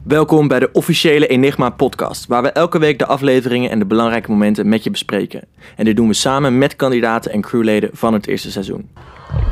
Welkom bij de officiële Enigma podcast, waar we elke week de afleveringen en de belangrijke momenten met je bespreken. En dit doen we samen met kandidaten en crewleden van het eerste seizoen.